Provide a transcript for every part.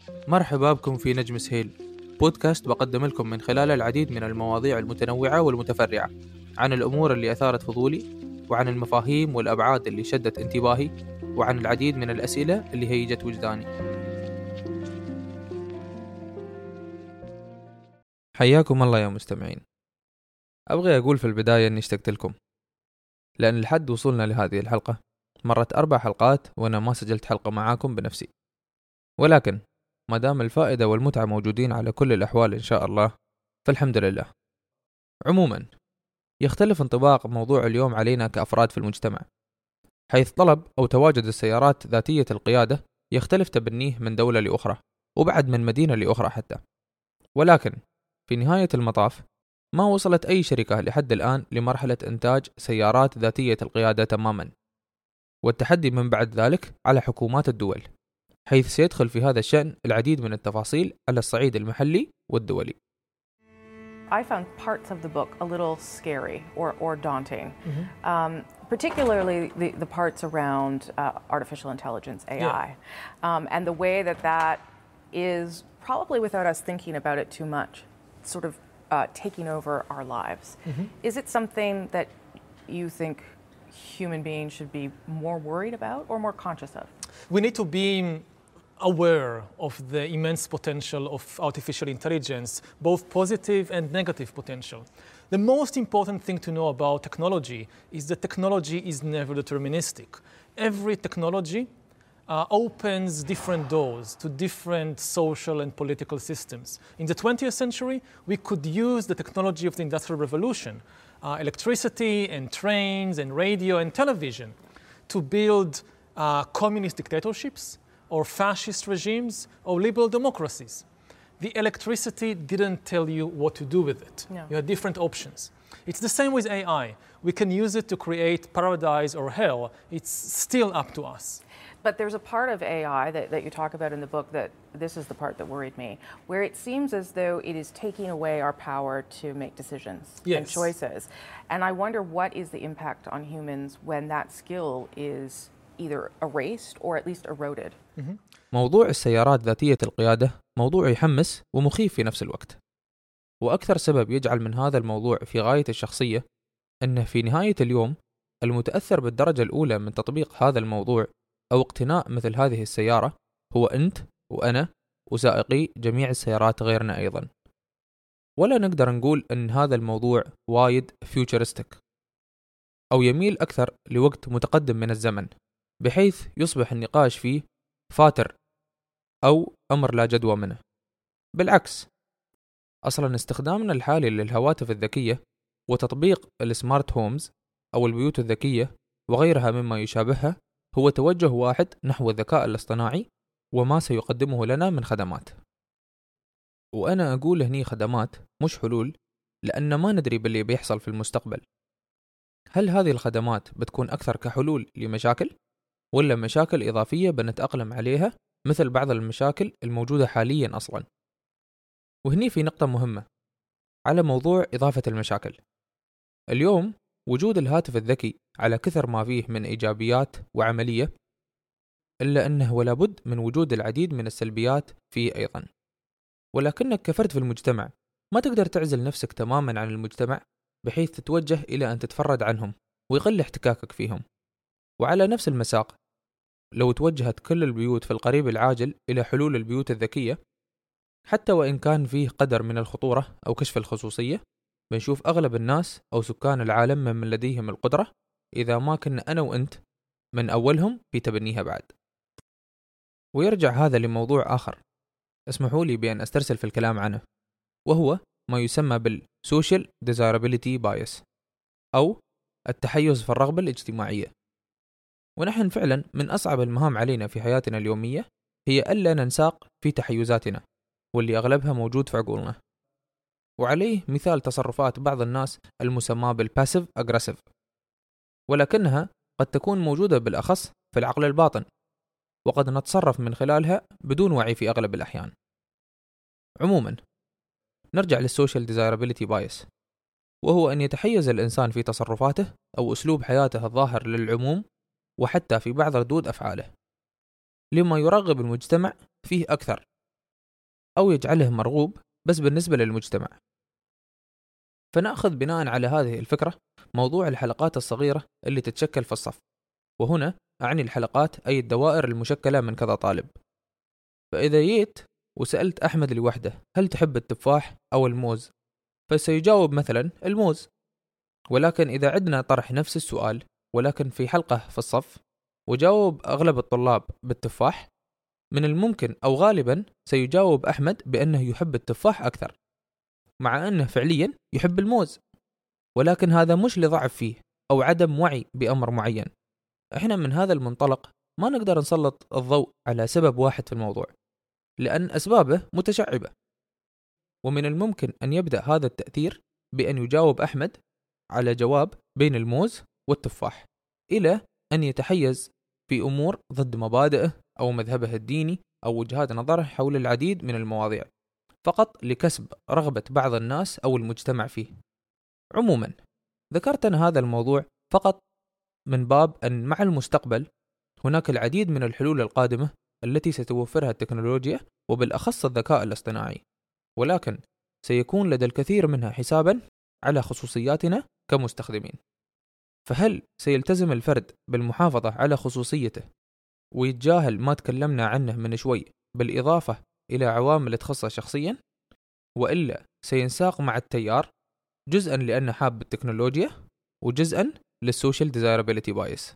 مرحبا بكم في نجم سهيل، بودكاست بقدم لكم من خلاله العديد من المواضيع المتنوعة والمتفرعة عن الأمور اللي أثارت فضولي، وعن المفاهيم والأبعاد اللي شدت انتباهي، وعن العديد من الأسئلة اللي هيجت وجداني. حياكم الله يا مستمعين. أبغي أقول في البداية أني اشتقت لكم، لأن لحد وصولنا لهذه الحلقة مرت 4 حلقات وأنا ما سجلت حلقة معاكم بنفسي، ولكن ما دام الفائدة والمتعة موجودين على كل الأحوال إن شاء الله فالحمد لله. عموما يختلف انطباق موضوع اليوم علينا كأفراد في المجتمع، حيث طلب أو تواجد السيارات ذاتية القيادة يختلف تبنيه من دولة لأخرى، وبعد من مدينة لأخرى حتى. ولكن في نهاية المطاف ما وصلت أي شركة لحد الآن لمرحلة إنتاج سيارات ذاتية القيادة تماما، والتحدي من بعد ذلك على حكومات الدول، حيث سيدخل في هذا الشأن العديد من التفاصيل على الصعيد المحلي والدولي. I found parts of the book a little scary or daunting, particularly the parts around artificial intelligence, AI, and the way that is probably without us thinking about it too much, sort of taking over our lives. Is it something that you think human beings should be more worried about or more conscious of? We need to be aware of the immense potential of artificial intelligence, both positive and negative potential. The most important thing to know about technology is that technology is never deterministic. Every technology opens different doors to different social and political systems. In the 20th century, we could use the technology of the Industrial Revolution, electricity and trains and radio and television, to build communist dictatorships, or fascist regimes, or liberal democracies. The electricity didn't tell you what to do with it. No. You had different options. It's the same with AI. We can use it to create paradise or hell. It's still up to us. But there's a part of AI that you talk about in the book that this is the part that worried me, where it seems as though it is taking away our power to make decisions and choices. And I wonder what is the impact on humans when that skill is either erased or at least eroded. موضوع السيارات ذاتية القيادة موضوع يحمس ومخيف في نفس الوقت، وأكثر سبب يجعل من هذا الموضوع في غاية الشخصية أنه في نهاية اليوم المتأثر بالدرجة الأولى من تطبيق هذا الموضوع أو اقتناء مثل هذه السيارة هو أنت وأنا وسائقي جميع السيارات غيرنا أيضا. ولا نقدر نقول أن هذا الموضوع وايد فيوتشرستيك أو يميل أكثر لوقت متقدم من الزمن، بحيث يصبح النقاش فيه فاتر أو أمر لا جدوى منه. بالعكس، أصلا استخدامنا الحالي للهواتف الذكية وتطبيق السمارت هومز أو البيوت الذكية وغيرها مما يشابهها هو توجه واحد نحو الذكاء الاصطناعي وما سيقدمه لنا من خدمات. وأنا أقول هني خدمات مش حلول، لأن ما ندري باللي بيحصل في المستقبل. هل هذه الخدمات بتكون أكثر كحلول لمشاكل ولا مشاكل إضافية بنتأقلم عليها مثل بعض المشاكل الموجودة حاليا أصلا؟ وهني في نقطة مهمة على موضوع إضافة المشاكل. اليوم وجود الهاتف الذكي على كثر ما فيه من إيجابيات وعملية، إلا أنه ولا بد من وجود العديد من السلبيات فيه أيضا. ولكنك كفرد في المجتمع ما تقدر تعزل نفسك تماما عن المجتمع بحيث تتوجه إلى أن تتفرد عنهم ويقل احتكاكك فيهم. وعلى نفس المساق لو توجهت كل البيوت في القريب العاجل إلى حلول البيوت الذكية، حتى وإن كان فيه قدر من الخطورة أو كشف الخصوصية، بنشوف أغلب الناس أو سكان العالم من لديهم القدرة إذا ما كنا أنا وأنت من أولهم في تبنيها بعد. ويرجع هذا لموضوع آخر اسمحوا لي بأن أسترسل في الكلام عنه، وهو ما يسمى بالسوشيال ديزايرابيليتي بايس أو التحيز في الرغبة الاجتماعية. ونحن فعلا من أصعب المهام علينا في حياتنا اليومية هي ألا ننساق في تحيزاتنا، واللي أغلبها موجود في عقولنا. وعليه مثال تصرفات بعض الناس المسمى بالباسيف أجريسيف، ولكنها قد تكون موجودة بالأخص في العقل الباطن، وقد نتصرف من خلالها بدون وعي في أغلب الأحيان. عموما نرجع للسوشيال ديزايرابيليتي بايس، وهو أن يتحيز الإنسان في تصرفاته أو أسلوب حياته الظاهر للعموم وحتى في بعض ردود أفعاله لما يرغب المجتمع فيه أكثر أو يجعله مرغوب بس بالنسبة للمجتمع. فنأخذ بناء على هذه الفكرة موضوع الحلقات الصغيرة اللي تتشكل في الصف، وهنا أعني الحلقات أي الدوائر المشكلة من كذا طالب. فإذا جيت وسألت أحمد لوحده هل تحب التفاح أو الموز، فسيجاوب مثلا الموز. ولكن إذا عدنا طرح نفس السؤال ولكن في حلقة في الصف وجاوب أغلب الطلاب بالتفاح، من الممكن أو غالبا سيجاوب أحمد بأنه يحب التفاح أكثر، مع أنه فعليا يحب الموز. ولكن هذا مش لضعف فيه أو عدم وعي بأمر معين. إحنا من هذا المنطلق ما نقدر نسلط الضوء على سبب واحد في الموضوع، لأن أسبابه متشعبة. ومن الممكن أن يبدأ هذا التأثير بأن يجاوب أحمد على جواب بين الموز والتفاح، إلى أن يتحيز في أمور ضد مبادئه أو مذهبه الديني أو وجهات نظره حول العديد من المواضيع، فقط لكسب رغبة بعض الناس أو المجتمع فيه. عموما ذكرت أنا هذا الموضوع فقط من باب أن مع المستقبل هناك العديد من الحلول القادمة التي ستوفرها التكنولوجيا وبالأخص الذكاء الاصطناعي، ولكن سيكون لدى الكثير منها حسابا على خصوصياتنا كمستخدمين. فهل سيلتزم الفرد بالمحافظة على خصوصيته ويتجاهل ما تكلمنا عنه من شوي بالإضافة إلى عوامل تخصه شخصيا، وإلا سينساق مع التيار جزءا لأنه حاب التكنولوجيا وجزءا للسوشيال desirability bias؟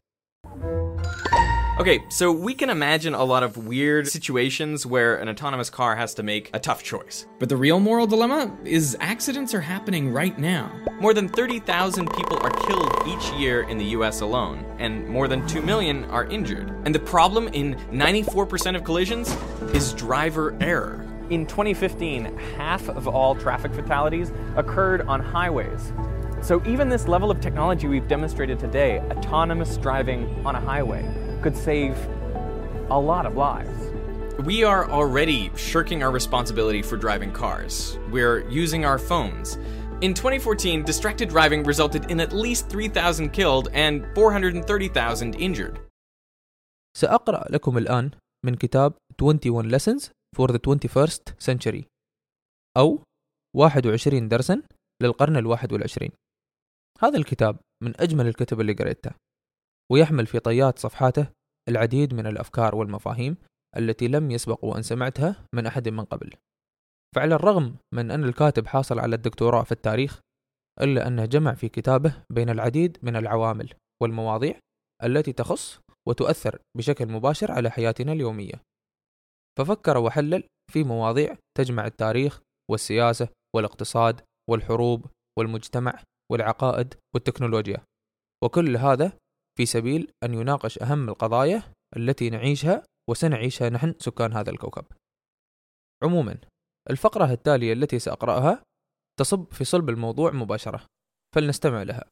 Okay, so we can imagine a lot of weird situations where an autonomous car has to make a tough choice. But the real moral dilemma is accidents are happening right now. More than 30,000 people are killed each year in the US alone, and more than 2 million are injured. And the problem in 94% of collisions is driver error. In 2015, half of all traffic fatalities occurred on highways. So even this level of technology we've demonstrated today, autonomous driving on a highway, could save a lot of lives. We are already shirking our responsibility for driving cars. We're using our phones. In 2014, distracted driving resulted in at least 3,000 killed and 430,000 injured. سأقرأ لكم الآن من كتاب 21 Lessons for the 21st Century، أو 21 درسا للقرن 21. هذا الكتاب من أجمل الكتب اللي قرأتها، ويحمل في طيات صفحاته العديد من الأفكار والمفاهيم التي لم يسبق وأن سمعتها من أحد من قبل. فعلى الرغم من أن الكاتب حاصل على الدكتوراه في التاريخ، إلا أنه جمع في كتابه بين العديد من العوامل والمواضيع التي تخص وتؤثر بشكل مباشر على حياتنا اليومية. ففكر وحلل في مواضيع تجمع التاريخ والسياسة والاقتصاد والحروب والمجتمع والعقائد والتكنولوجيا، وكل هذا في سبيل أن يناقش أهم القضايا التي نعيشها وسنعيشها نحن سكان هذا الكوكب. عموما الفقرة التالية التي سأقرأها تصب في صلب الموضوع مباشرة، فلنستمع لها.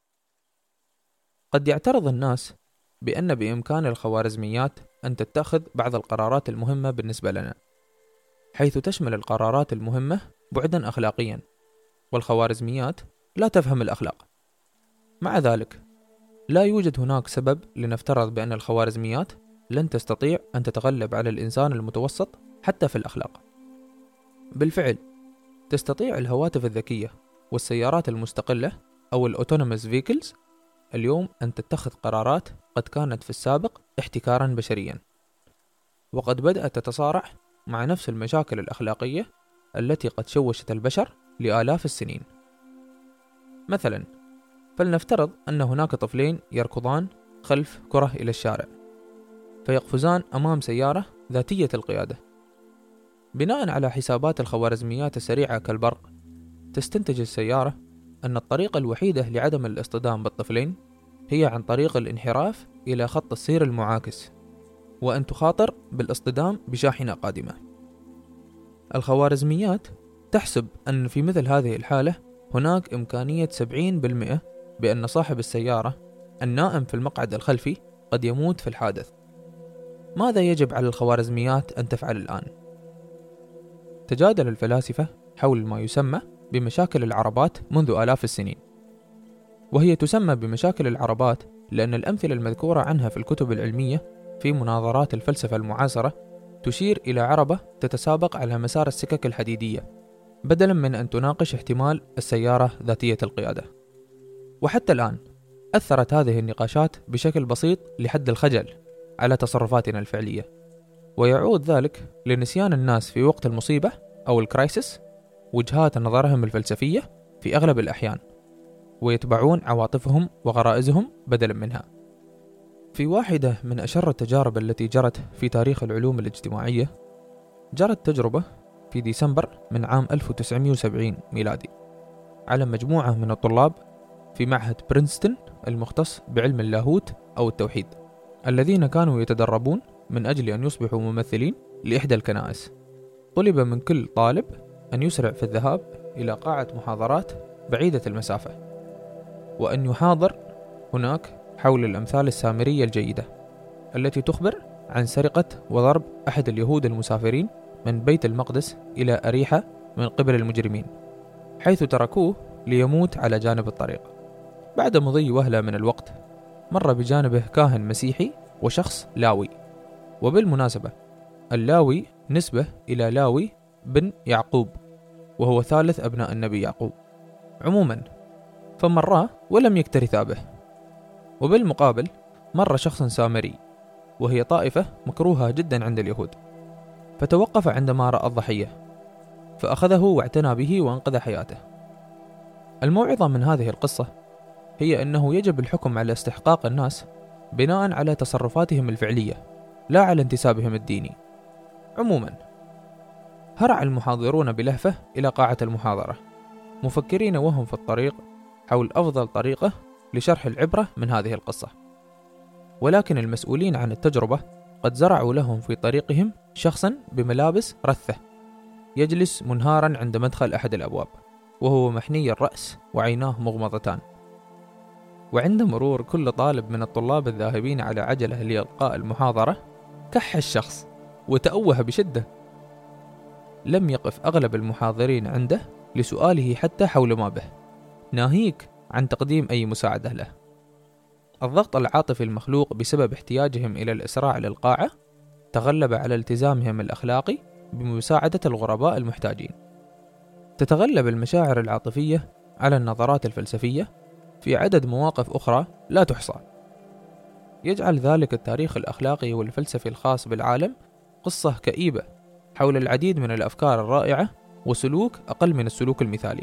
قد يعترض الناس بأن بإمكان الخوارزميات أن تتخذ بعض القرارات المهمة بالنسبة لنا، حيث تشمل القرارات المهمة بعدا أخلاقيا، والخوارزميات لا تفهم الأخلاق. مع ذلك لا يوجد هناك سبب لنفترض بأن الخوارزميات لن تستطيع أن تتغلب على الإنسان المتوسط حتى في الأخلاق. بالفعل تستطيع الهواتف الذكية والسيارات المستقلة أو الأوتونوموس فيكلز اليوم أن تتخذ قرارات قد كانت في السابق احتكارا بشريا، وقد بدأت تتصارع مع نفس المشاكل الأخلاقية التي قد شوشت البشر لآلاف السنين. مثلا فلنفترض أن هناك طفلين يركضان خلف كرة إلى الشارع، فيقفزان أمام سيارة ذاتية القيادة. بناء على حسابات الخوارزميات السريعة كالبرق، تستنتج السيارة أن الطريقة الوحيدة لعدم الاصطدام بالطفلين هي عن طريق الانحراف إلى خط السير المعاكس، وأن تخاطر بالاصطدام بشاحنة قادمة. الخوارزميات تحسب أن في مثل هذه الحالة هناك إمكانية 70% بأن صاحب السيارة النائم في المقعد الخلفي قد يموت في الحادث. ماذا يجب على الخوارزميات أن تفعل الآن؟ تجادل الفلاسفة حول ما يسمى بمشاكل العربات منذ آلاف السنين، وهي تسمى بمشاكل العربات لأن الأمثلة المذكورة عنها في الكتب العلمية في مناظرات الفلسفة المعاصرة تشير إلى عربة تتسابق على مسار السكك الحديدية بدلاً من أن تناقش احتمال السيارة ذاتية القيادة. وحتى الآن أثرت هذه النقاشات بشكل بسيط لحد الخجل على تصرفاتنا الفعلية، ويعود ذلك لنسيان الناس في وقت المصيبة أو الكرايسيس وجهات نظرهم الفلسفية في أغلب الأحيان، ويتبعون عواطفهم وغرائزهم بدلاً منها. في واحدة من أشر التجارب التي جرت في تاريخ العلوم الاجتماعية، جرت تجربة في ديسمبر من عام 1970 ميلادي على مجموعة من الطلاب في معهد برينستون المختص بعلم اللاهوت أو التوحيد، الذين كانوا يتدربون من أجل أن يصبحوا ممثلين لإحدى الكنائس. طلب من كل طالب أن يسرع في الذهاب إلى قاعة محاضرات بعيدة المسافة، وأن يحاضر هناك حول الأمثال السامرية الجيدة التي تخبر عن سرقة وضرب أحد اليهود المسافرين من بيت المقدس إلى أريحة من قبل المجرمين، حيث تركوه ليموت على جانب الطريق. بعد مضي وهلة من الوقت مر بجانبه كاهن مسيحي وشخص لاوي، وبالمناسبة اللاوي نسبة إلى لاوي بن يعقوب، وهو ثالث أبناء النبي يعقوب. عموما فمراه ولم يكترثا به. وبالمقابل مر شخص سامري، وهي طائفة مكروهة جدا عند اليهود، فتوقف عندما رأى الضحية فأخذه واعتنى به وأنقذ حياته. الموعظة من هذه القصة هي أنه يجب الحكم على استحقاق الناس بناء على تصرفاتهم الفعلية لا على انتسابهم الديني. عموما هرع المحاضرون بلهفة إلى قاعة المحاضرة مفكرين وهم في الطريق حول أفضل طريقة لشرح العبرة من هذه القصة، ولكن المسؤولين عن التجربة قد زرعوا لهم في طريقهم شخصا بملابس رثة يجلس منهارا عند مدخل أحد الأبواب، وهو محني الرأس وعيناه مغمضتان. وعند مرور كل طالب من الطلاب الذاهبين على عجلة لإلقاء المحاضرة كح الشخص وتأوه بشدة. لم يقف أغلب المحاضرين عنده لسؤاله حتى حول ما به، ناهيك عن تقديم أي مساعدة له. الضغط العاطفي المخلوق بسبب احتياجهم إلى الإسراع للقاعة تغلب على التزامهم الأخلاقي بمساعدة الغرباء المحتاجين. تتغلب المشاعر العاطفية على النظرات الفلسفية في عدد مواقف أخرى لا تحصى. يجعل ذلك التاريخ الأخلاقي والفلسفي الخاص بالعالم قصة كئيبة حول العديد من الأفكار الرائعة وسلوك أقل من السلوك المثالي.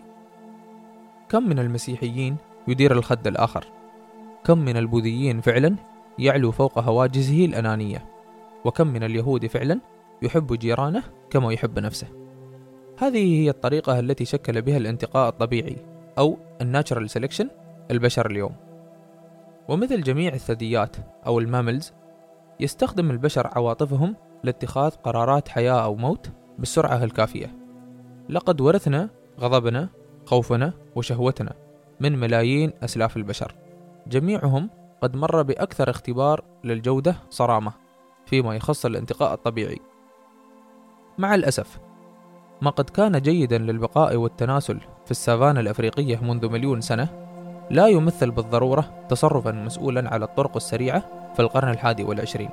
كم من المسيحيين يدير الخد الآخر؟ كم من البوذيين فعلا يعلو فوق هواجسه الأنانية؟ وكم من اليهود فعلا يحب جيرانه كما يحب نفسه؟ هذه هي الطريقة التي شكل بها الانتقاء الطبيعي أو الناتشرال سيلكشن البشر اليوم. ومثل جميع الثدييات أو الماملز، يستخدم البشر عواطفهم لاتخاذ قرارات حياة أو موت بالسرعة الكافية. لقد ورثنا غضبنا، خوفنا وشهوتنا من ملايين أسلاف البشر، جميعهم قد مر بأكثر اختبار للجودة صرامة فيما يخص الانتقاء الطبيعي. مع الأسف ما قد كان جيدا للبقاء والتناسل في السافانا الأفريقية منذ مليون سنة لا يمثل بالضرورة تصرفا مسؤولا على الطرق السريعة في القرن 21.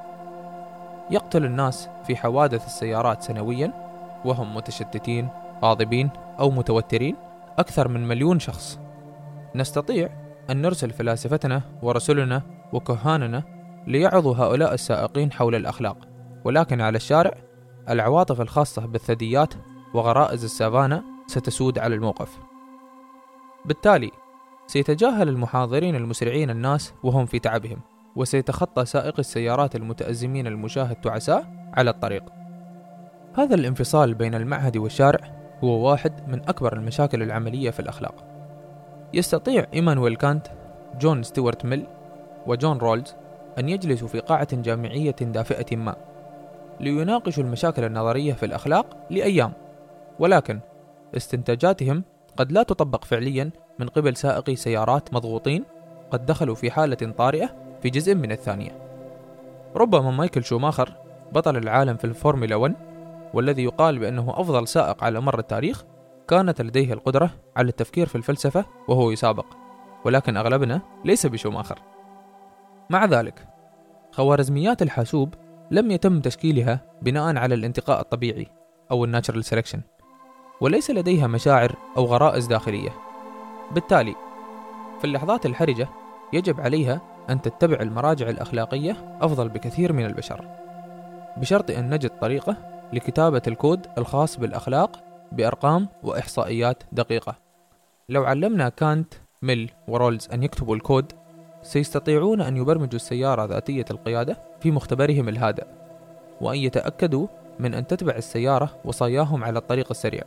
يقتل الناس في حوادث السيارات سنويا وهم متشتتين، غاضبين أو متوترين أكثر من 1,000,000 شخص. نستطيع أن نرسل فلاسفتنا ورسلنا وكهاننا ليعظوا هؤلاء السائقين حول الأخلاق، ولكن على الشارع العواطف الخاصة بالثدييات وغرائز السافانا ستسود على الموقف. بالتالي سيتجاهل المحاضرين المسرعين الناس وهم في تعبهم، وسيتخطى سائق السيارات المتأزمين المشاهد تعساء على الطريق. هذا الانفصال بين المعهد والشارع هو واحد من أكبر المشاكل العملية في الأخلاق. يستطيع إيمانويل كانت، جون ستيوارت ميل وجون رولز أن يجلسوا في قاعة جامعية دافئة ما ليناقشوا المشاكل النظرية في الأخلاق لأيام، ولكن استنتاجاتهم قد لا تطبق فعليا من قبل سائقي سيارات مضغوطين قد دخلوا في حالة طارئة في جزء من الثانية. ربما مايكل شوماخر بطل العالم في الفورمولا 1 والذي يقال بأنه أفضل سائق على مر التاريخ كانت لديه القدرة على التفكير في الفلسفة وهو يسابق، ولكن أغلبنا ليس بشوماخر. مع ذلك خوارزميات الحاسوب لم يتم تشكيلها بناء على الانتقاء الطبيعي أو الناتشرال سيلكشن، وليس لديها مشاعر أو غرائز داخلية. بالتالي في اللحظات الحرجة يجب عليها أن تتبع المراجع الأخلاقية أفضل بكثير من البشر، بشرط أن نجد طريقة لكتابة الكود الخاص بالأخلاق بأرقام وإحصائيات دقيقة. لو علمنا كانت، ميل ورولز أن يكتبوا الكود، سيستطيعون أن يبرمجوا السيارة ذاتية القيادة في مختبرهم الهادئ، وأن يتأكدوا من أن تتبع السيارة وصاياهم على الطريق السريع.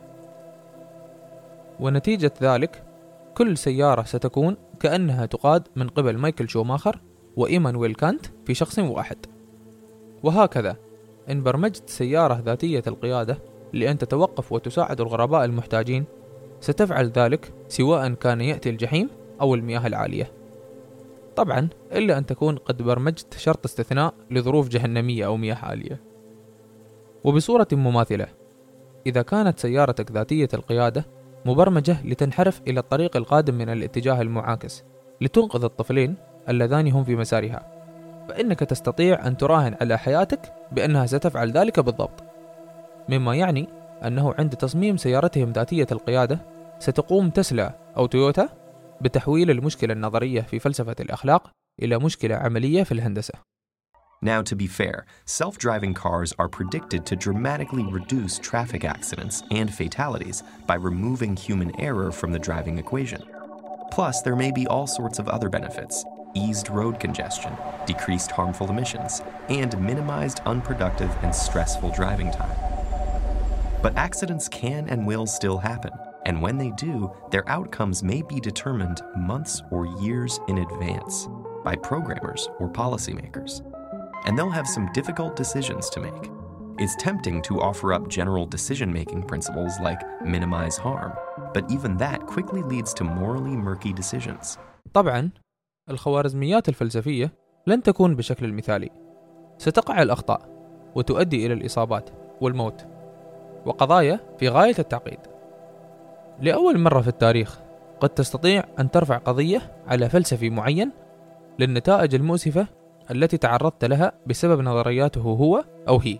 ونتيجة ذلك كل سيارة ستكون كأنها تقاد من قبل مايكل شوماخر وإيمانويل كانت في شخص واحد. وهكذا إن برمجت سيارة ذاتية القيادة لأن تتوقف وتساعد الغرباء المحتاجين، ستفعل ذلك سواء كان يأتي الجحيم أو المياه العالية، طبعا إلا أن تكون قد برمجت شرط استثناء لظروف جهنمية أو مياه عالية. وبصورة مماثلة، إذا كانت سيارتك ذاتية القيادة مبرمجة لتنحرف إلى الطريق القادم من الاتجاه المعاكس لتنقذ الطفلين اللذان هم في مسارها، فإنك تستطيع أن تراهن على حياتك بأنها ستفعل ذلك بالضبط، مما يعني أنه عند تصميم سيارتهم ذاتية القيادة ستقوم تسلا أو تويوتا بتحويل المشكلة النظرية في فلسفة الأخلاق إلى مشكلة عملية في الهندسة. Now, to be fair, self-driving cars are predicted to dramatically reduce traffic accidents and fatalities by removing human error from the driving equation. Plus, there may be all sorts of other benefits: eased road congestion, decreased harmful emissions, and minimized unproductive and stressful driving time. But accidents can and will still happen, and when they do, their outcomes may be determined months or years in advance by programmers or policymakers. And they'll have some difficult decisions to make. It's tempting to offer up general decision-making principles like minimize harm, but even that quickly leads to morally murky decisions. طبعاً الخوارزميات الفلسفية لن تكون بشكل المثالي، ستقع الأخطاء وتؤدي إلى الإصابات والموت وقضايا في غاية التعقيد. لأول مرة في التاريخ قد تستطيع أن ترفع قضية على فلسفي معين للنتائج المؤسفة التي تعرضت لها بسبب نظرياته هو أو هي،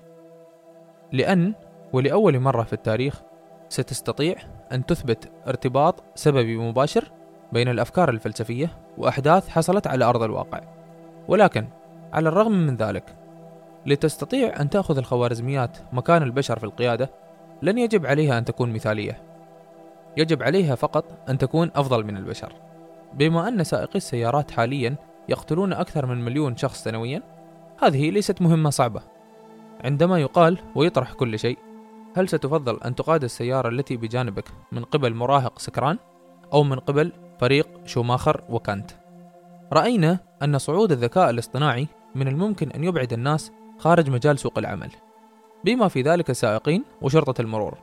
ولأول مرة في التاريخ ستستطيع أن تثبت ارتباط سببي مباشر بين الأفكار الفلسفية وأحداث حصلت على أرض الواقع. ولكن على الرغم من ذلك، لتستطيع أن تأخذ الخوارزميات مكان البشر في القيادة، لن يجب عليها أن تكون مثالية، يجب عليها فقط أن تكون أفضل من البشر. بما أن سائقي السيارات حاليا يقتلون أكثر من 1,000,000 شخص سنويا، هذه ليست مهمة صعبة. عندما يقال ويطرح كل شيء، هل ستفضل أن تقاد السيارة التي بجانبك من قبل مراهق سكران أو من قبل فريق شوماخر وكانت؟ رأينا أن صعود الذكاء الاصطناعي من الممكن أن يبعد الناس خارج مجال سوق العمل، بما في ذلك السائقين وشرطة المرور.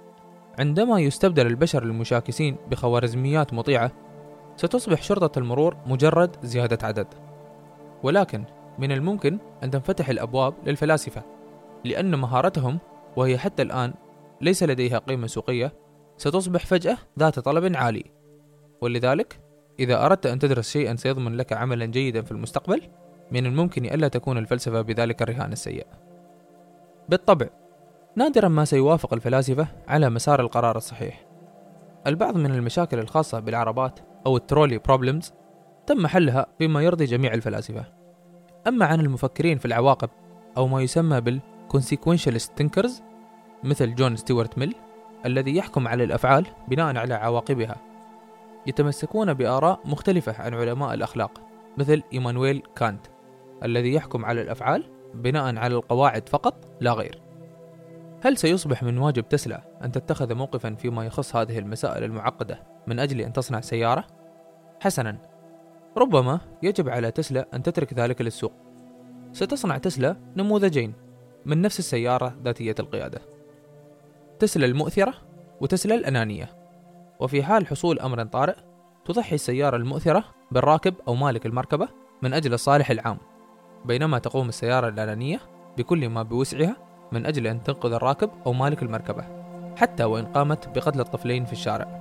عندما يستبدل البشر المشاكسين بخوارزميات مطيعة، ستصبح شرطة المرور مجرد زيادة عدد. ولكن من الممكن أن تنفتح الأبواب للفلاسفة، لأن مهارتهم، وهي حتى الآن ليس لديها قيمة سوقية، ستصبح فجأة ذات طلب عالي. ولذلك إذا أردت أن تدرس شيئا سيضمن لك عملا جيدا في المستقبل، من الممكن ألا تكون الفلسفة بذلك الرهان السيء. بالطبع نادرا ما سيوافق الفلاسفة على مسار القرار الصحيح. البعض من المشاكل الخاصة بالعربات أو الترولي بروبلمز تم حلها بما يرضي جميع الفلاسفة. أما عن المفكرين في العواقب أو ما يسمى بالconsequentialist thinkers مثل جون ستيوارت ميل، الذي يحكم على الأفعال بناء على عواقبها، يتمسكون بآراء مختلفة عن علماء الأخلاق مثل إيمانويل كانت، الذي يحكم على الأفعال بناء على القواعد فقط لا غير. هل سيصبح من واجب تسلا أن تتخذ موقفا فيما يخص هذه المسائل المعقدة من أجل أن تصنع سيارة؟ حسنا، ربما يجب على تسلا أن تترك ذلك للسوق. ستصنع تسلا نموذجين من نفس السيارة ذاتية القيادة: تسلا المؤثرة وتسلا الأنانية. وفي حال حصول أمر طارئ، تضحي السيارة المؤثرة بالراكب أو مالك المركبة من أجل الصالح العام، بينما تقوم السيارة الأنانية بكل ما بوسعها من أجل أن تنقذ الراكب أو مالك المركبة، حتى وإن قامت بقتل الطفلين في الشارع.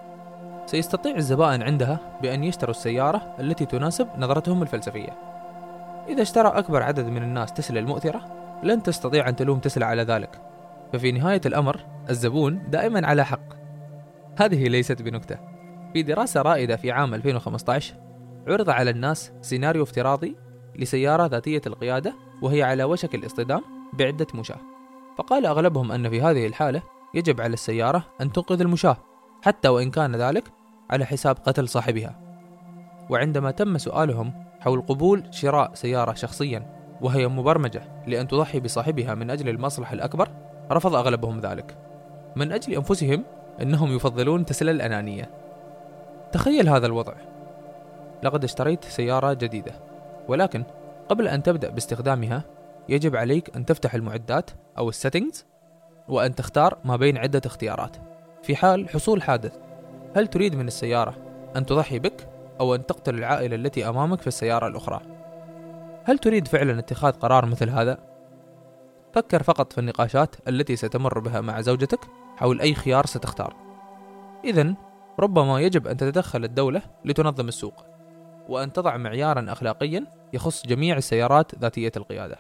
سيستطيع الزبائن عندها بأن يشتروا السيارة التي تناسب نظرتهم الفلسفية. إذا اشترى أكبر عدد من الناس تسلا المؤثرة، لن تستطيع أن تلوم تسلا على ذلك، ففي نهاية الأمر الزبون دائما على حق. هذه ليست بنكتة. في دراسة رائدة في عام 2015 عرض على الناس سيناريو افتراضي لسيارة ذاتية القيادة وهي على وشك الاصطدام بعدة مشاة، فقال أغلبهم أن في هذه الحالة يجب على السيارة أن تنقذ المشاة حتى وإن كان ذلك على حساب قتل صاحبها. وعندما تم سؤالهم حول قبول شراء سيارة شخصيا وهي مبرمجة لأن تضحي بصاحبها من أجل المصلحة الأكبر، رفض أغلبهم ذلك من أجل أنفسهم، أنهم يفضلون تسلا الأنانية. تخيل هذا الوضع، لقد اشتريت سيارة جديدة، ولكن قبل أن تبدأ باستخدامها يجب عليك أن تفتح المعدات أو السيتنجز وأن تختار ما بين عدة اختيارات. في حال حصول حادث، هل تريد من السيارة أن تضحي بك أو أن تقتل العائلة التي أمامك في السيارة الأخرى؟ هل تريد فعلا اتخاذ قرار مثل هذا؟ فكر فقط في النقاشات التي ستمر بها مع زوجتك حول أي خيار ستختار. إذن ربما يجب أن تتدخل الدولة لتنظم السوق وأن تضع معيارا أخلاقيا يخص جميع السيارات ذاتية القيادة.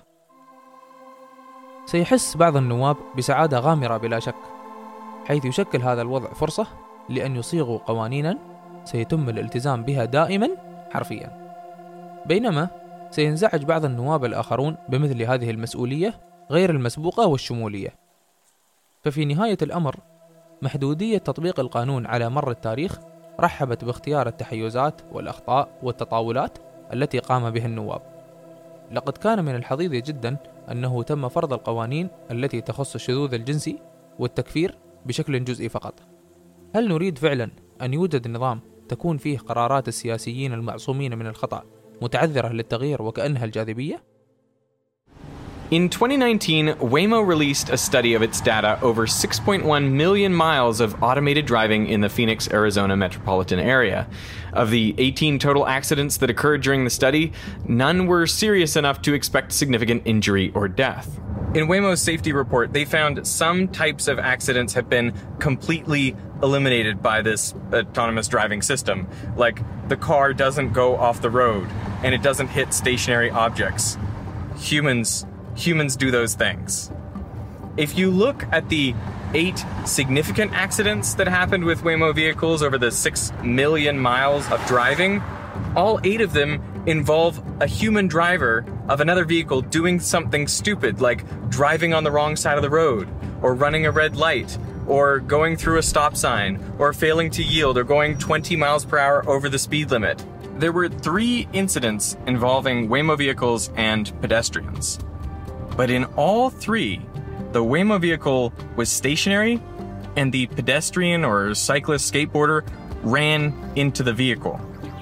سيحس بعض النواب بسعادة غامرة بلا شك، حيث يشكل هذا الوضع فرصة لأن يصيغوا قوانينا سيتم الالتزام بها دائما حرفيا، بينما سينزعج بعض النواب الآخرون بمثل هذه المسؤولية غير المسبوقة والشمولية. ففي نهاية الأمر محدودية تطبيق القانون على مر التاريخ رحبت باختيار التحيزات والأخطاء والتطاولات التي قام بها النواب. لقد كان من الحظيظ جدا أنه تم فرض القوانين التي تخص الشذوذ الجنسي والتكفير بشكل جزئي فقط. هل نريد فعلا أن يوجد نظام تكون فيه قرارات السياسيين المعصومين من الخطأ متعذرة للتغيير وكأنها الجاذبية؟ In 2019, Waymo released a study of its data over 6.1 million miles of automated driving in the Phoenix, Arizona metropolitan area. Of the 18 total accidents that occurred during the study, none were serious enough to expect significant injury or death. In Waymo's safety report, they found some types of accidents have been completely eliminated by this autonomous driving system. Like, the car doesn't go off the road, and it doesn't hit stationary objects. Humans do those things. If you look at the 8 significant accidents that happened with Waymo vehicles over the 6 million miles of driving, all 8 of them involve a human driver of another vehicle doing something stupid, like driving on the wrong side of the road, or running a red light, or going through a stop sign, or failing to yield, or going 20 miles per hour over the speed limit. There were 3 incidents involving Waymo vehicles and pedestrians. But in all 3, the Waymo vehicle was stationary and the pedestrian or cyclist skateboarder ran into the vehicle.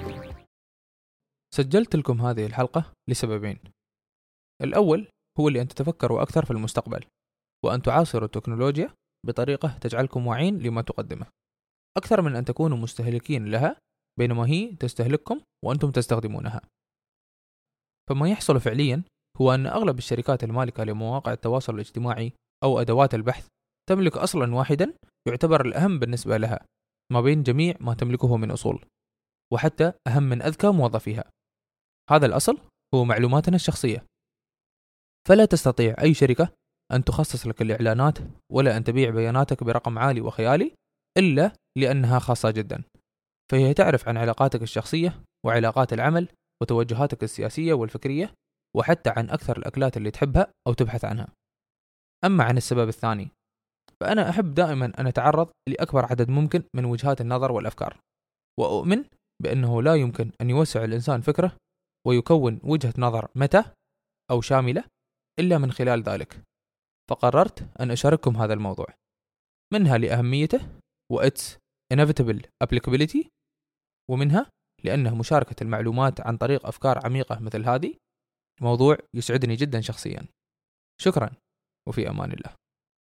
سجلت لكم هذه الحلقة لسببين. الأول هو لأن تتفكروا أكثر في المستقبل وأن تعاصروا التكنولوجيا بطريقة تجعلكم واعين لما تقدمه، أكثر من أن تكونوا مستهلكين لها بينما هي تستهلككم وأنتم تستخدمونها. فما يحصل فعليا هو أن أغلب الشركات المالكة لمواقع التواصل الاجتماعي أو أدوات البحث تملك أصلا واحدا يعتبر الأهم بالنسبة لها ما بين جميع ما تملكه من أصول، وحتى أهم من أذكى موظفيها. هذا الأصل هو معلوماتنا الشخصية. فلا تستطيع أي شركة أن تخصص لك الإعلانات ولا أن تبيع بياناتك برقم عالي وخيالي إلا لأنها خاصة جدا، فهي تعرف عن علاقاتك الشخصية وعلاقات العمل وتوجهاتك السياسية والفكرية، وحتى عن أكثر الأكلات اللي تحبها أو تبحث عنها. أما عن السبب الثاني، فأنا أحب دائما أن أتعرض لأكبر عدد ممكن من وجهات النظر والأفكار، وأؤمن بأنه لا يمكن أن يوسع الإنسان فكره ويكون وجهة نظر متى أو شاملة إلا من خلال ذلك. فقررت أن أشارككم هذا الموضوع، منها لأهميته وإتس inevitable applicability، ومنها لأنه مشاركة المعلومات عن طريق أفكار عميقة مثل هذه موضوع يسعدني جدا شخصيا. شكرا، وفي أمان الله.